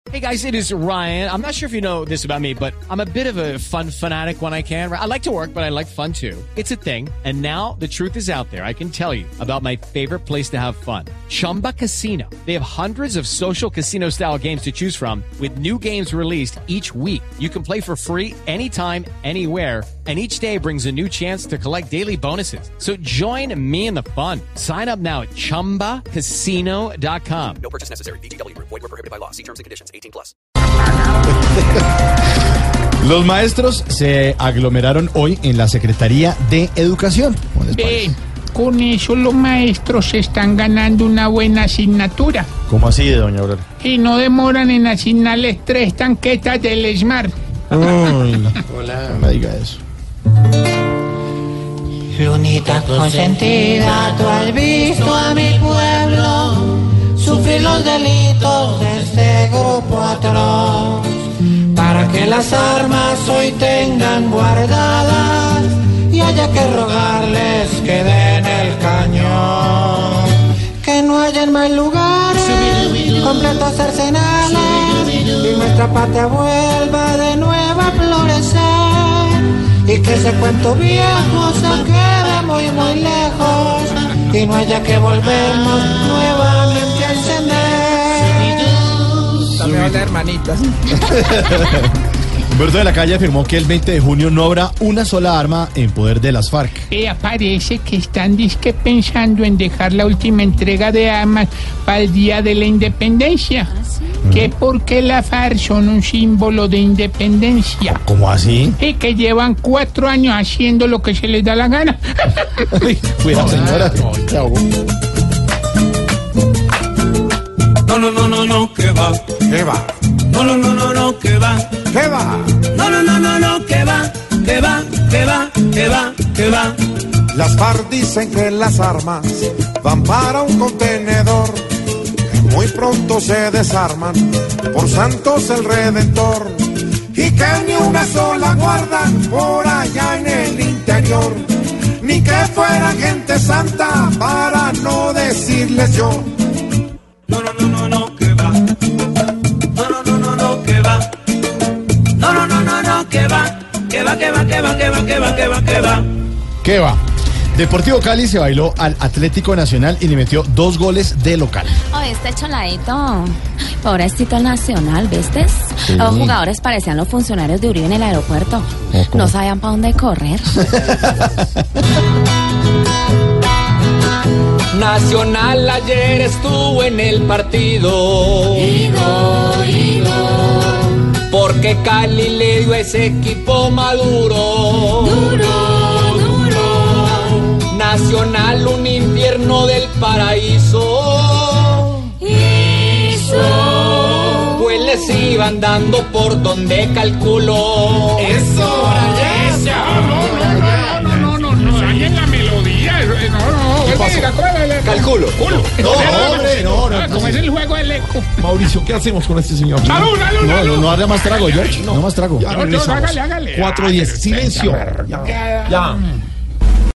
Hey guys, it is Ryan. I'm not sure if you know this about me, but I'm a bit of a fun fanatic when I can. I like to work, but I like fun too. It's a thing. And now the truth is out there. I can tell you about my favorite place to have fun. Chumba Casino. They have hundreds of social casino style games to choose from with new games released each week. You can play for free anytime, anywhere. And each day brings a new chance to collect daily bonuses. So join me in the fun. Sign up now at ChumbaCasino.com. No purchase necessary. VGW Group. Void where prohibited by law. See terms and conditions. 18+. Los maestros se aglomeraron hoy en la Secretaría de Educación. Con eso los maestros se están ganando una buena asignatura. ¿Cómo así, doña Aurora? Y no demoran en asignarles 3 tanquetas del Smart. Hola. No me diga eso. Lunita consentida, tú has visto a mi pueblo sufrir los delitos de este grupo atroz, para que las armas hoy tengan guardadas y haya que rogarles que den el cañón, que no haya en más lugares completos arsenales y nuestra patria vuelva de nuevo a florecer, y que ese cuento viejo se quede muy muy lejos y no haya que volvernos nuevamente a encender. También las hermanitas. Humberto de la Calle afirmó que el 20 de junio no habrá una sola arma en poder de las FARC. Parece que están pensando en dejar la última entrega de armas para el Día de la Independencia. ¿Sí? Que porque las FARC son un símbolo de independencia. ¿Cómo así? Y que llevan 4 años haciendo lo que se les da la gana. Cuidado, señora. No, que va. ¿Qué va? No, que va. ¿Qué va? No, que va. Las FARC dicen que las armas van para un contenedor, que muy pronto se desarman por Santos el Redentor, y que ni una sola guardan por allá en el interior, ni que fuera gente santa para no decirles yo. No, que va. No, que va. No, que va. ¿Qué va? Deportivo Cali se bailó al Atlético Nacional y le metió 2 goles de local. Este choladito, pobrecito el Nacional, ¿viste? Sí. Los jugadores parecían los funcionarios de Uribe en el aeropuerto. No sabían para dónde correr. Nacional ayer estuvo en el partido. Porque Cali le dio a ese equipo maduro. Nacional, un infierno del paraíso. Pues les iban dando por donde calculó. Eso. No dañen la melodía. Calculo. No. Como es el juego del eco. Mauricio, ¿qué hacemos con este señor? ¡Salud! No haga más trago, George. No más trago. Ya regresamos. Hágale. 4:10. Silencio. Ya.